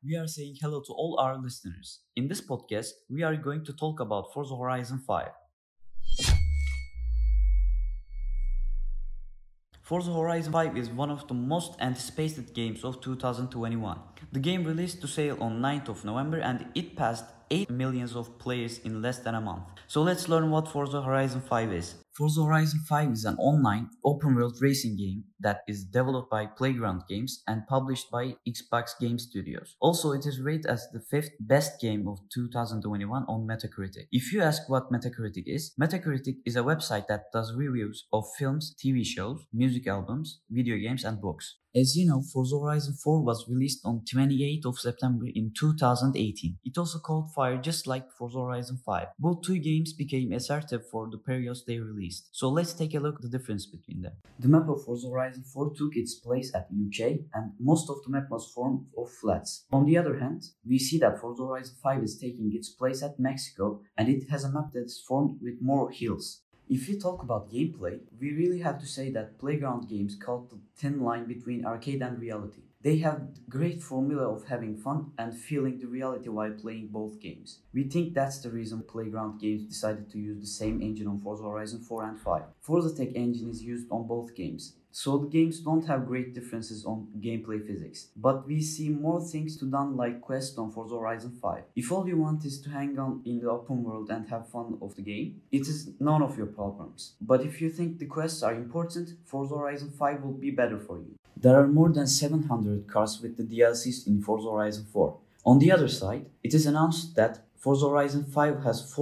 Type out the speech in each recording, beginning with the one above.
we are saying hello to all our listeners. In this podcast, we are going to talk about Forza Horizon 5. Forza Horizon 5 is one of the most anticipated games of 2021. The game released to sale on 9th of November and it passed 8 million of players in less than a month. So let's learn what Forza Horizon 5 is. Forza Horizon 5 is an online, open-world racing game that is developed by Playground Games and published by Xbox Game Studios. Also, it is rated as the 5th best game of 2021 on Metacritic. If you ask what Metacritic is a website that does reviews of films, TV shows, music albums, video games, and books. As you know, Forza Horizon 4 was released on 28th of September in 2018. It also caught fire just like Forza Horizon 5. Both two games became assertive for the periods they released. So let's take a look at the difference between them. The map of Forza Horizon 4 took its place at UK and most of the map was formed of flats. On the other hand, we see that Forza Horizon 5 is taking its place at Mexico and it has a map that is formed with more hills. If we talk about gameplay, we really have to say that Playground Games caught the thin line between arcade and reality. They have the great formula of having fun and feeling the reality while playing both games. We think that's the reason Playground Games decided to use the same engine on Forza Horizon 4 and 5. Forza Tech engine is used on both games. So the games don't have great differences on gameplay physics, but we see more things to done like quests on Forza Horizon 5. If all you want is to hang on in the open world and have fun of the game, it is none of your problems. But if you think the quests are important, Forza Horizon 5 will be better for you. There are more than 700 cars with the DLCs in Forza Horizon 4. On the other side, it is announced that Forza Horizon 5 has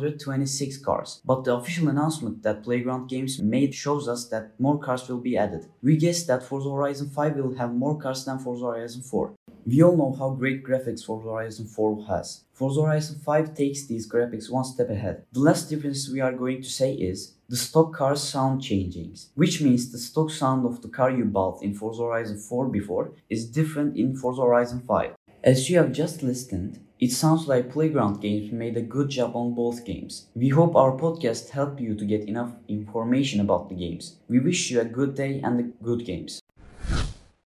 426 cars, but the official announcement that Playground Games made shows us that more cars will be added. We guess that Forza Horizon 5 will have more cars than Forza Horizon 4. We all know how great graphics Forza Horizon 4 has. Forza Horizon 5 takes these graphics one step ahead. The last difference we are going to say is the stock car's sound changings, which means the stock sound of the car you bought in Forza Horizon 4 before is different in Forza Horizon 5. As you have just listened, it sounds like Playground Games made a good job on both games. We hope our podcast helped you to get enough information about the games. We wish you a good day and good games.